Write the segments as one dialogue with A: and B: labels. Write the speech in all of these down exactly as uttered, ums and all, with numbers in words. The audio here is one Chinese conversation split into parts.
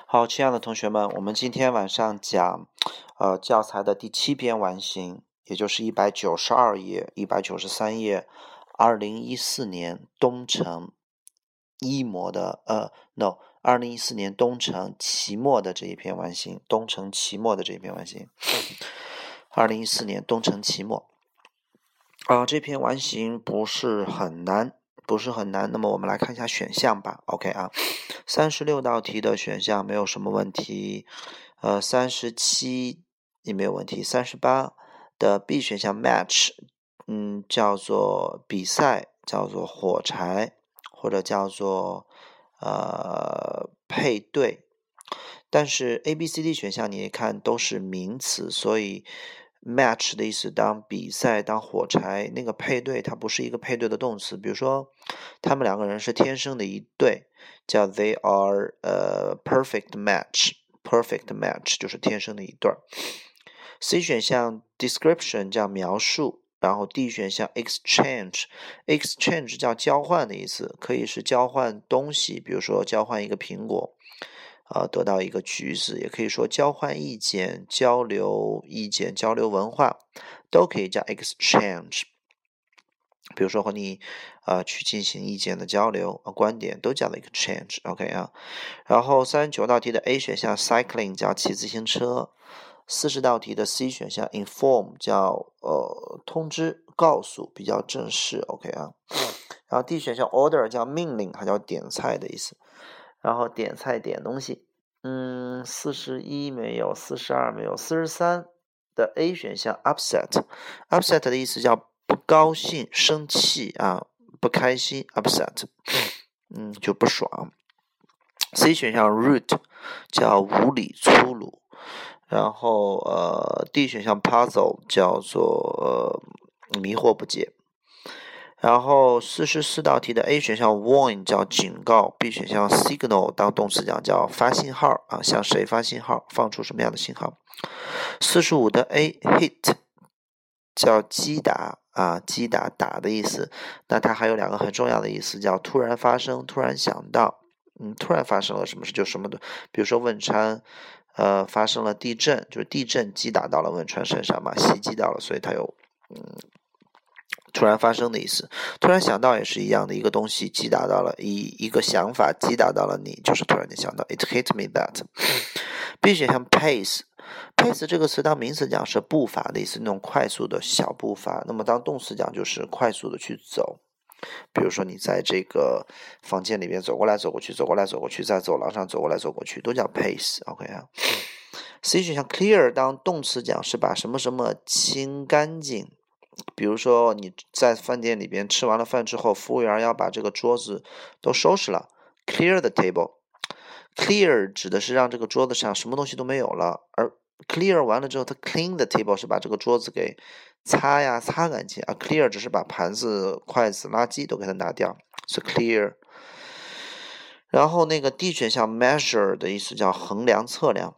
A: 好，亲爱的同学们，我们今天晚上讲，呃，教材的第七篇完形，也就是一百九十二页、一百九十三页，二零一四年东城一模的，呃，no，二零一四年东城期末的这一篇完形，东城期末的这一篇完形，二零一四年东城期末，啊、呃，这篇完形不是很难。不是很难，那么我们来看一下选项吧。OK 啊，三十六道题的选项没有什么问题，呃，三十七也没有问题，三十八的 B 选项 match， 嗯，叫做比赛，叫做火柴，或者叫做呃配对，但是 A、B、C、D 选项你看都是名词，所以match 的意思当比赛当火柴，那个配对它不是一个配对的动词，比如说他们两个人是天生的一对，叫 they are a perfect match， perfect match 就是天生的一对。 C 选项 description 叫描述，然后 D 选项 exchange exchange 叫交换的意思，可以是交换东西，比如说交换一个苹果呃，得到一个橘子，也可以说交换意见、交流意见、交流文化，都可以叫 exchange。比如说和你呃去进行意见的交流、呃、观点都叫做 exchange。OK 啊，然后三十九道题的 A 选项 cycling 叫骑自行车，四十道题的 C 选项 inform 叫呃通知、告诉，比较正式。OK 啊，然后 D 选项 order 叫命令，还叫点菜的意思。然后点菜点东西，嗯，四十一没有，四十二没有，四十三的 A 选项 upset， upset 的意思叫不高兴、生气啊，不开心 upset， 嗯，就不爽。C 选项 rude 叫无理、粗鲁，然后呃 D 选项 puzzle 叫做、呃、迷惑不解。然后四十四道题的 A 选项 warn 叫警告， B 选项 signal 当动词讲叫发信号啊，向谁发信号，放出什么样的信号。四十五的 A hit 叫击打啊，击打打的意思，那它还有两个很重要的意思，叫突然发生，突然想到，嗯，突然发生了什么事就什么的，比如说汶川呃发生了地震，就是地震击打到了汶川身上嘛，袭击到了，所以它有嗯突然发生的意思。突然想到也是一样的，一个东西击打到了一一个想法击打到了你，就是突然间想到 it hit me that。 B 选项 pace pace 这个词当名词讲是步伐的意思，那种快速的小步伐，那么当动词讲就是快速的去走，比如说你在这个房间里面走过来走过去，走过来走过去，在走廊上走过来走过去，都叫 pace。 OK 啊。C 选项 clear 当动词讲是把什么什么清干净，比如说你在饭店里边吃完了饭之后，服务员要把这个桌子都收拾了， clear the table。 clear 指的是让这个桌子上什么东西都没有了，而 clear 完了之后，它 clean the table 是把这个桌子给擦呀擦干净，而 clear 只是把盘子、筷子、垃圾都给它拿掉，是 clear。然后那个 D 选项 measure 的意思叫衡量、测量。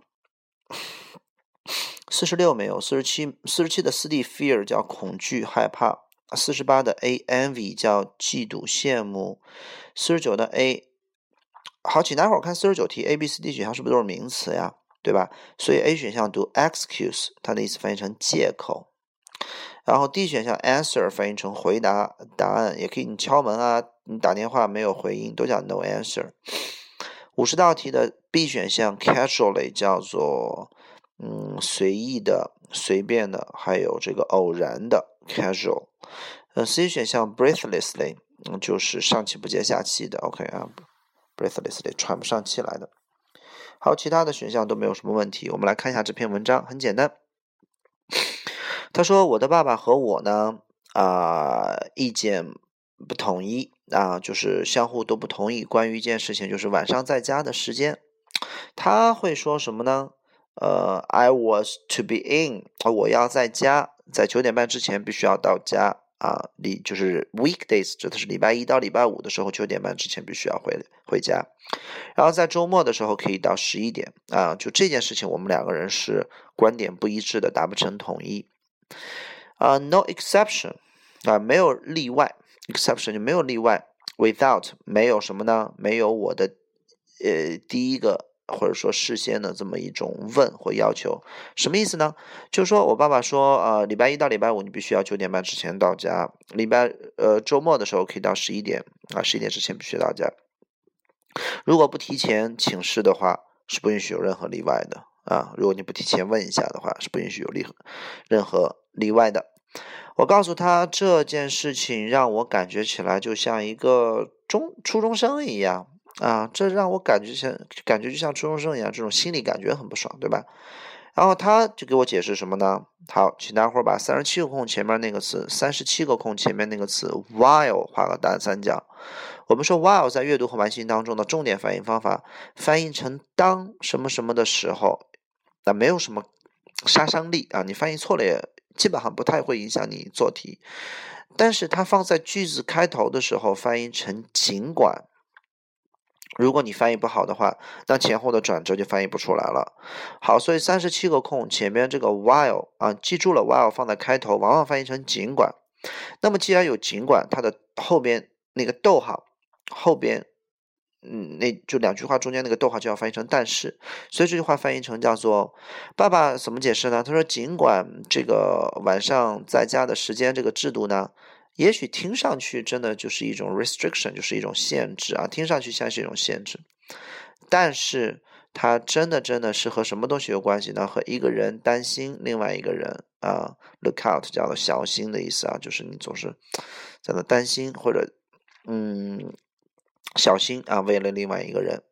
A: 四十六没有，四十七，四十七的四 D fear 叫恐惧、害怕，四十八的 A envy 叫嫉妒、羡慕，四十九的 A， 好，请待会儿看四十九题 A、B、C、D 选项是不是都是名词呀？对吧？所以 A 选项读 excuse， 它的意思翻译成借口。然后 D 选项 answer 翻译成回答、答案，也可以你敲门啊，你打电话没有回应都叫 no answer。五十道题的 B 选项 casually 叫做嗯随意的、随便的，还有这个偶然的 casual。呃 C 选项 breathlessly、嗯、就是上气不接下气的 OK 啊 breathlessly 喘不上气来的。好，其他的选项都没有什么问题，我们来看一下这篇文章，很简单。他说我的爸爸和我呢啊、呃、意见不统一啊，就是相互都不同意关于一件事情，就是晚上在家的时间。他会说什么呢？呃 I was to be in， 我要在家，在九点半之前必须要到家啊，就是 weekdays 指的是礼拜一到礼拜五的时候，九点半之前必须要回回家。然后在周末的时候可以到十一点啊，就这件事情我们两个人是观点不一致的，达不成统一。啊 no exception 啊，没有例外 ，exception 就没有例外。Without 没有什么呢？没有我的呃第一个或者说事先的这么一种问或要求。什么意思呢？就是说我爸爸说，呃，礼拜一到礼拜五你必须要九点半之前到家，礼拜呃周末的时候可以到十一点啊，十一点之前必须到家。如果不提前请示的话，是不允许有任何例外的啊。如果你不提前问一下的话，是不允许有例任何例外的。我告诉他这件事情让我感觉起来就像一个中初中生一样啊，这让我感觉像感觉就像初中生一样，这种心理感觉很不爽，对吧？然后他就给我解释什么呢？好，请大伙儿把三十七个空前面那个词，三十七个空前面那个词 while 画个大三角。我们说 while 在阅读和完形当中的重点翻译方法，翻译成当什么什么的时候，那没有什么杀伤力啊，你翻译错了也基本上不太会影响你做题。但是它放在句子开头的时候翻译成尽管，如果你翻译不好的话，那前后的转折就翻译不出来了。好，所以三十七个空前面这个 while 啊，记住了 while 放在开头往往翻译成尽管。那么既然有尽管，它的后边那个逗号后边嗯，那就两句话中间那个逗号就要翻译成但是，所以这句话翻译成叫做爸爸怎么解释呢？他说尽管这个晚上在家的时间这个制度呢，也许听上去真的就是一种 restriction， 就是一种限制啊，听上去像是一种限制，但是它真的真的是和什么东西有关系呢？和一个人担心另外一个人啊 ，look out 叫做小心的意思啊，就是你总是在那担心或者嗯。小心啊，为了另外一个人，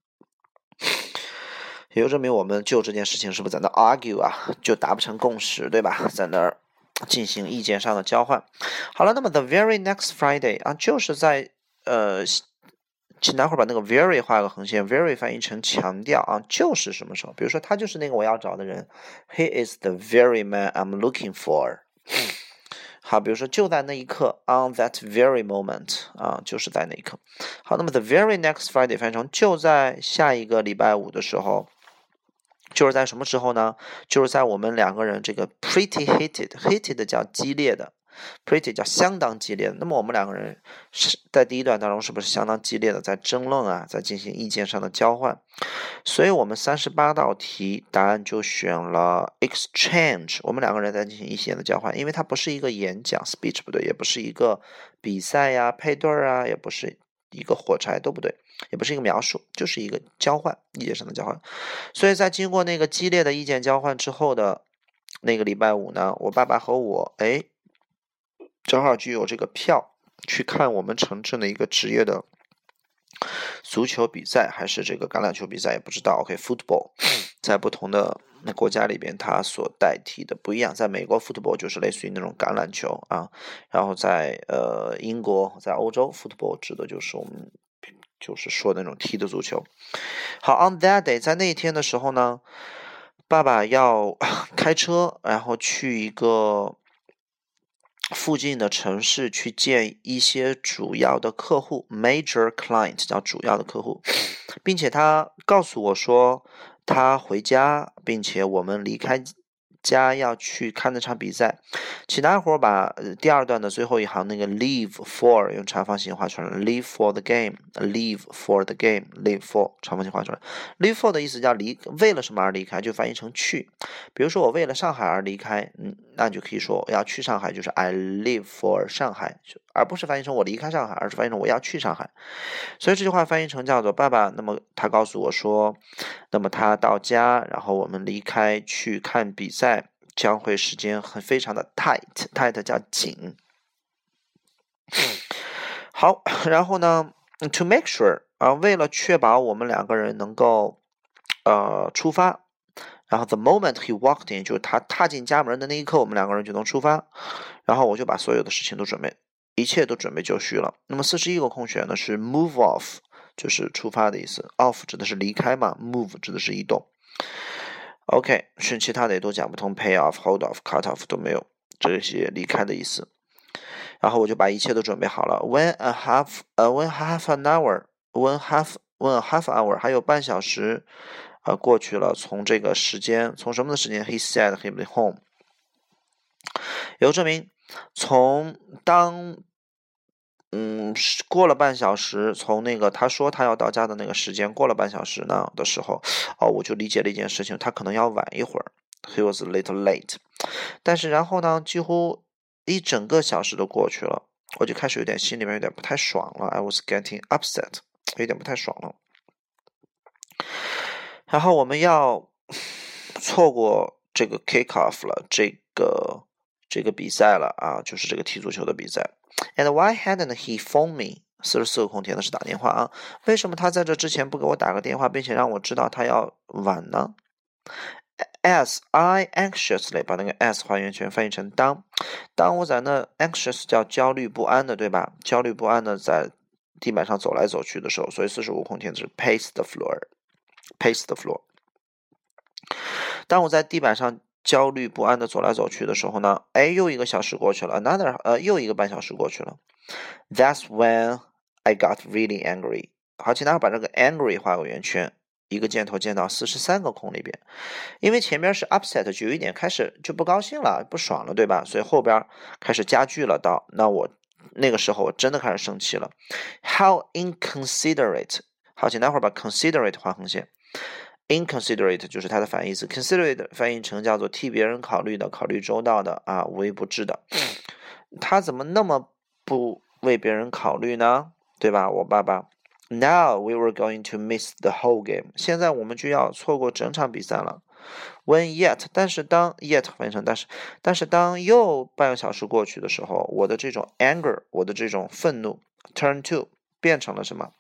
A: 也就证明我们就这件事情是不是在那 argue 啊，就达不成共识，对吧？在那儿进行意见上的交换。好了，那么 the very next Friday 啊，就是在呃，请待会儿把那个 very 画个横线 ，very 翻译成强调啊，就是什么时候？比如说他就是那个我要找的人 ，He is the very man I'm looking for。好，比如说就在那一刻 ，on that very moment 啊，就是在那一刻。好，那么 the very next Friday 翻译成就在下一个礼拜五的时候，就是在什么时候呢？就是在我们两个人这个 pretty heated，heated 叫激烈的。pretty 叫相当激烈的，那么我们两个人是在第一段当中是不是相当激烈的在争论啊，在进行意见上的交换？所以我们三十八道题答案就选了 exchange， 我们两个人在进行意见的交换，因为它不是一个演讲 speech 不对，也不是一个比赛呀、配对啊，也不是一个火柴都不对，也不是一个描述，就是一个交换，意见上的交换。所以在经过那个激烈的意见交换之后的那个礼拜五呢，我爸爸和我哎。正好就有这个票去看我们城镇的一个职业的足球比赛，还是这个橄榄球比赛也不知道。OK，football， 在不同的国家里边，它所代替的不一样。在美国 football 就是类似于那种橄榄球啊，然后在呃英国，在欧洲 football 指的就是我们就是说那种踢的足球。好 ，on that day， 在那一天的时候呢，爸爸要开车，然后去一个附近的城市去见一些主要的客户 major client 叫主要的客户，并且他告诉我说他回家，并且我们离开家要去看那场比赛。请大伙把第二段的最后一行那个 leave for 用长方形画出来 leave for the game leave for the game leave for 长方形画出来 leave for 的意思叫离为了什么而离开，就翻译成去。比如说我为了上海而离开，嗯，那就可以说我要去上海，就是 I leave for 上海，而不是翻译成我离开上海，而是翻译成我要去上海。所以这句话翻译成叫做爸爸，那么他告诉我说，那么他到家，然后我们离开去看比赛，将会时间很非常的 tight， tight 叫紧。好，然后呢 to make sure 啊，为了确保我们两个人能够呃出发，然后 the moment he walked in 就是他踏进家门的那一刻，我们两个人就能出发，然后我就把所有的事情都准备，一切都准备就绪了。那么四十一个空选呢是 move off， 就是出发的意思， off 指的是离开嘛， move 指的是移动。OK， 顺其他的也都讲不通 ，pay off、hold off、cut off 都没有这些离开的意思。然后我就把一切都准备好了。When a half， 呃、uh, ，when half an hour，when half when a half hour 还有半小时，呃，过去了。从这个时间，从什么的时间 ？He said he'll be home。有证明，从当嗯，过了半小时，从那个他说他要到家的那个时间过了半小时呢的时候，哦，我就理解了一件事情，他可能要晚一会儿。He was a little late。但是然后呢，几乎一整个小时都过去了，我就开始有点心里面有点不太爽了。I was getting upset， 有点不太爽了。然后我们要错过这个 kick off 了，这个这个比赛了啊，就是这个踢足球的比赛。And why hadn't he phoned me？ 四十四个空填的是打电话啊，为什么他在这之前不给我打个电话，并且让我知道他要晚呢？ As I anxiously 把那个 as 还原权翻译成当，当我在那 anxious 叫焦虑不安的，对吧？焦虑不安的在地板上走来走去的时候，所以四十五空填是 pace the floor。Pace the floor。当我在地板上焦虑不安的走来走去的时候呢，哎，又一个小时过去了 ，another 呃，又一个半小时过去了。That's when I got really angry。好，请大家把这个 angry 画个圆圈，一个箭头箭到四十三个空里边，因为前面是 upset， 就有一点开始就不高兴了，不爽了，对吧？所以后边开始加剧了到，那我那个时候我真的开始生气了。How inconsiderate。好，请待会儿把 considerate 画横线。Inconsiderate 就是它的反义词 ，considerate 翻译成叫做替别人考虑的、考虑周到的啊，无微不至的。他怎么那么不为别人考虑呢？对吧？我爸爸。Now we were going to miss the whole game。现在我们就要错过整场比赛了。When yet， 但是当 yet 翻译成但是，但是当又半个小时过去的时候，我的这种 anger， 我的这种愤怒 turn to 变成了什么？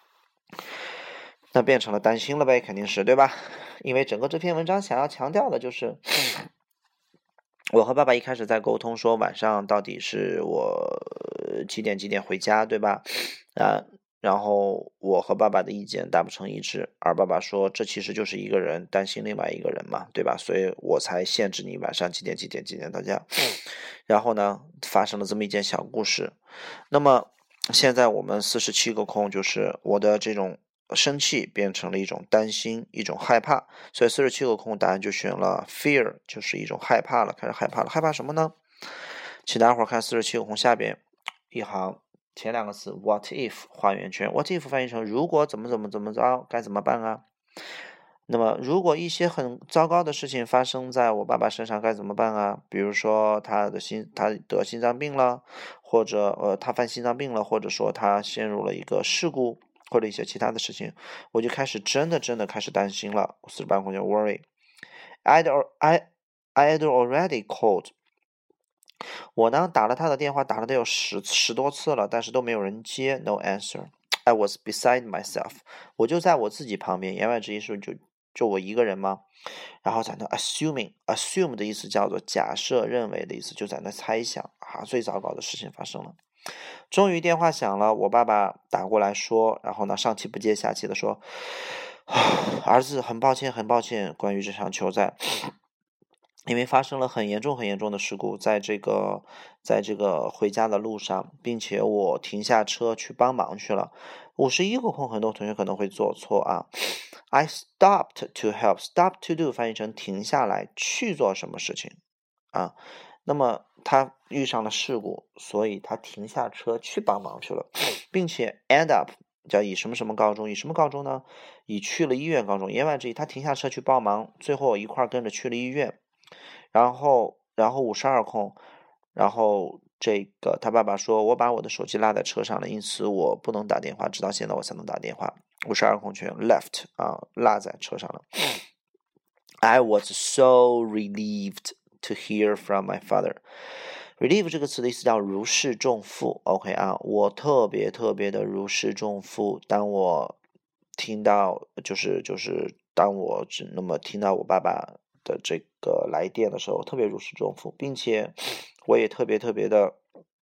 A: 那变成了担心了呗，肯定是，对吧？因为整个这篇文章想要强调的就是，我和爸爸一开始在沟通说晚上到底是我几点几点回家，对吧？啊，然后我和爸爸的意见达不成一致，而爸爸说这其实就是一个人担心另外一个人嘛，对吧？所以我才限制你晚上几点几点几点到家。然后呢，发生了这么一件小故事。那么现在我们四十七个空，就是我的这种生气变成了一种担心，一种害怕，所以四十七个空答案就选了 fear， 就是一种害怕了，开始害怕了。害怕什么呢？请大家伙看四十七个空下边一行前两个词 what if 画圆圈， what if 翻译成如果怎么怎么怎么着该怎么办啊？那么如果一些很糟糕的事情发生在我爸爸身上该怎么办啊？比如说他的心他得心脏病了，或者呃他犯心脏病了，或者说他陷入了一个事故，或者一些其他的事情，我就开始真的真的开始担心了。四十八空叫 worry。 I'd, I, I'd already called。 我呢打了他的电话，打了得有十十多次了，但是都没有人接 no answer。 I was beside myself。 我就在我自己旁边，言外之意是就就我一个人吗？然后在那 assuming assume 的意思叫做假设认为的意思，就在那猜想啊，最糟糕的事情发生了。终于电话响了，我爸爸打过来说，然后呢上气不接下气的说，儿子很抱歉很抱歉，关于这场球赛，因为发生了很严重很严重的事故，在这个在这个回家的路上，并且我停下车去帮忙去了。五十一个空，很多同学可能会做错啊。I stopped to help。 Stop to do 翻译成停下来去做什么事情啊？那么他遇上了事故，所以他停下车去帮忙去了，并且 end up 叫以什么什么告终，以什么告终呢？以去了医院告终。言外之意，他停下车去帮忙，最后一块跟着去了医院。然后，然后五十二空，然后这个他爸爸说，我把我的手机落在车上了，因此我不能打电话，直到现在我才能打电话。五十二空全 left 啊，落在车上了。I was so relieved to hear from my father。 relieve 这个词的意思叫如释重负 OK 啊，我特别特别的如释重负，当我听到就是就是当我只那么听到我爸爸的这个来电的时候，特别如释重负，并且我也特别特别的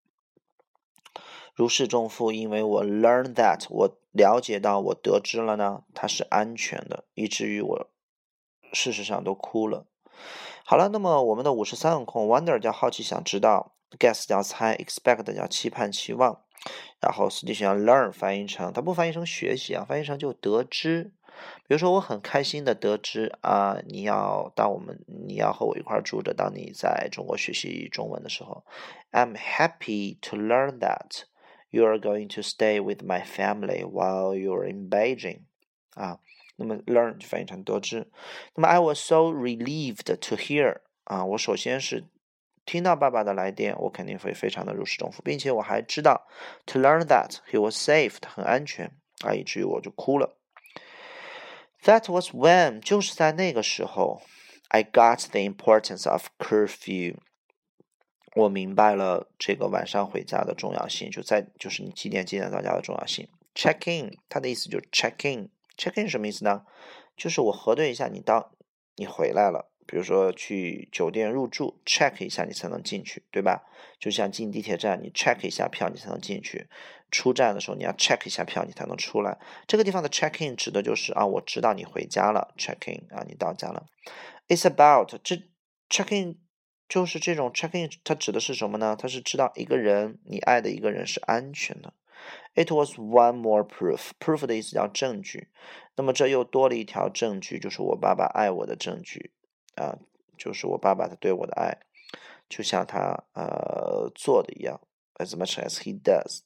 A: 如释重负，因为我 learn that 我了解到我得知了呢，它是安全的，以至于我事实上都哭了。好了，那么我们的五十三个空 wonder 叫好奇想知道， guess 叫猜， expect 叫期盼期望，然后实际上 learn 翻译成，它不翻译成学习啊，翻译成就得知。比如说我很开心的得知啊，你要当我们你要和我一块住着，当你在中国学习中文的时候， I'm happy to learn that You are going to stay with my family while you're in Beijing. 啊，那么 learn 就翻译成得知。那么 I was so relieved to hear. 啊，我首先是听到爸爸的来电，我肯定会非常的如释重负，并且我还知道 to learn that he was safe, 很安全啊，以至于我就哭了。That was when 就是在那个时候 I got the importance of curfew. 我明白了这个晚上回家的重要性，就在就是你几点几点到家的重要性。Check in 它的意思就是 check in check in 什么意思呢？就是我核对一下你到你回来了，比如说去酒店入住 check 一下你才能进去，对吧？就像进地铁站你 check 一下票你才能进去，出站的时候你要 check 一下票你才能出来。这个地方的 check in 指的就是啊我知道你回家了 check in 啊你到家了。It's about 这 check in就是这种 check in 它指的是什么呢？它是知道一个人你爱的一个人是安全的。It was one more proof. Proof 的意思叫证据。那么这又多了一条证据，就是我爸爸爱我的证据啊，就是我爸爸他对我的爱，就像他呃做的一样 ，as much as he does。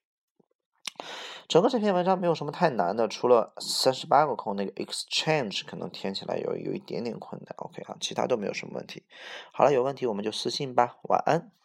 A: 整个这篇文章没有什么太难的，除了三十八个空那个 exchange 可能填起来有有一点点困难。OK 啊，其他都没有什么问题。好了，有问题我们就私信吧。晚安。